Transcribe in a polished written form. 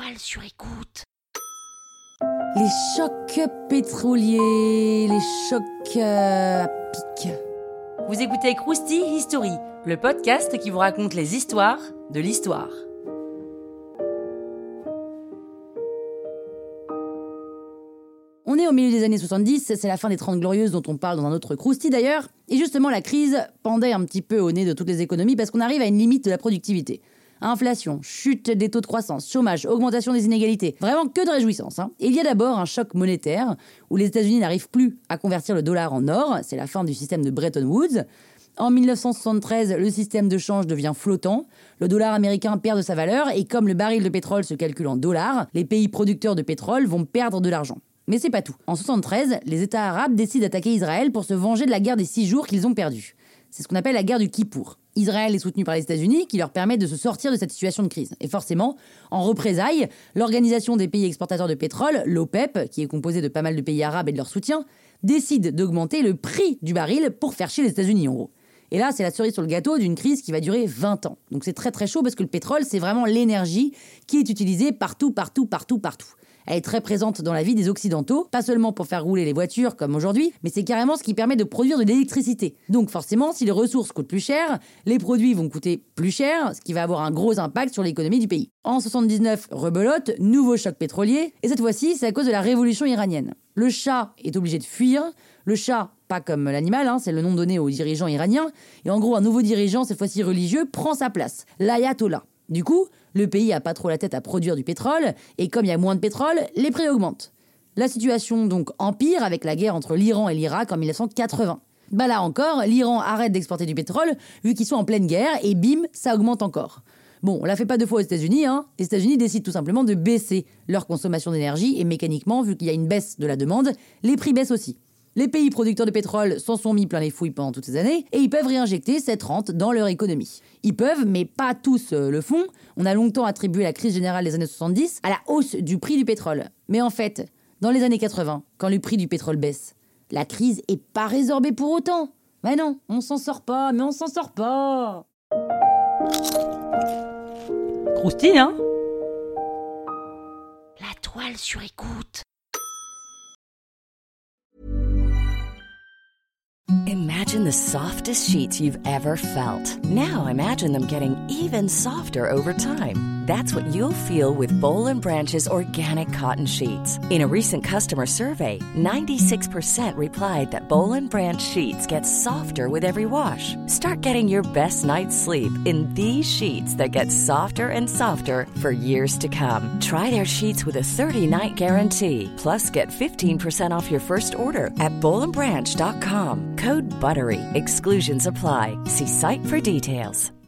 toile sur écoute. Les chocs pétroliers, les chocs à pic. Vous écoutez Krusty History, le podcast qui vous raconte les histoires de l'histoire. On est au milieu des années 70, c'est la fin des 30 Glorieuses dont on parle dans un autre Krusty d'ailleurs, et justement la crise pendait un petit peu au nez de toutes les économies parce qu'on arrive à une limite de la productivité. Inflation, chute des taux de croissance, chômage, augmentation des inégalités. Vraiment que de réjouissance. Et il y a d'abord un choc monétaire où les États-Unis n'arrivent plus à convertir le dollar en or. C'est la fin du système de Bretton Woods. En 1973, le système de change devient flottant. Le dollar américain perd de sa valeur et comme le baril de pétrole se calcule en dollars, les pays producteurs de pétrole vont perdre de l'argent. Mais c'est pas tout. En 1973, les États arabes décident d'attaquer Israël pour se venger de la guerre des 6 jours qu'ils ont perdue. C'est ce qu'on appelle la guerre du Kippour. Israël est soutenu par les États-Unis qui leur permet de se sortir de cette situation de crise. Et forcément, en représailles, l'Organisation des pays exportateurs de pétrole, l'OPEP, qui est composée de pas mal de pays arabes et de leur soutien, décide d'augmenter le prix du baril pour faire chier les États-Unis en gros. Et là, c'est la cerise sur le gâteau d'une crise qui va durer 20 ans. Donc c'est très très chaud parce que le pétrole, c'est vraiment l'énergie qui est utilisée partout. Elle est très présente dans la vie des Occidentaux, pas seulement pour faire rouler les voitures comme aujourd'hui, mais c'est carrément ce qui permet de produire de l'électricité. Donc forcément, si les ressources coûtent plus cher, les produits vont coûter plus cher, ce qui va avoir un gros impact sur l'économie du pays. En 79, rebelote, nouveau choc pétrolier, et cette fois-ci, c'est à cause de la révolution iranienne. Le Shah est obligé de fuir, le Shah, pas comme l'animal, c'est le nom donné aux dirigeants iraniens, et en gros, un nouveau dirigeant, cette fois-ci religieux, prend sa place, l'ayatollah. Du coup, le pays a pas trop la tête à produire du pétrole, et comme il y a moins de pétrole, les prix augmentent. La situation donc empire avec la guerre entre l'Iran et l'Irak en 1980. Là encore, l'Iran arrête d'exporter du pétrole, vu qu'ils sont en pleine guerre, et bim, ça augmente encore. Bon, on la fait pas deux fois aux États-Unis, Les États-Unis décident tout simplement de baisser leur consommation d'énergie, et mécaniquement, vu qu'il y a une baisse de la demande, les prix baissent aussi. Les pays producteurs de pétrole s'en sont mis plein les fouilles pendant toutes ces années et ils peuvent réinjecter cette rente dans leur économie. Ils peuvent, mais pas tous le font. On a longtemps attribué la crise générale des années 70 à la hausse du prix du pétrole. Mais en fait, dans les années 80, quand le prix du pétrole baisse, la crise est pas résorbée pour autant. Mais non, on s'en sort pas. Krusty, La toile sur écoute. Imagine the softest sheets you've ever felt. Now imagine them getting even softer over time. That's what you'll feel with Boll & Branch's organic cotton sheets. In a recent customer survey, 96% replied that Boll & Branch sheets get softer with every wash. Start getting your best night's sleep in these sheets that get softer and softer for years to come. Try their sheets with a 30-night guarantee. Plus, get 15% off your first order at bollandbranch.com. Code BUTTERY. Exclusions apply. See site for details.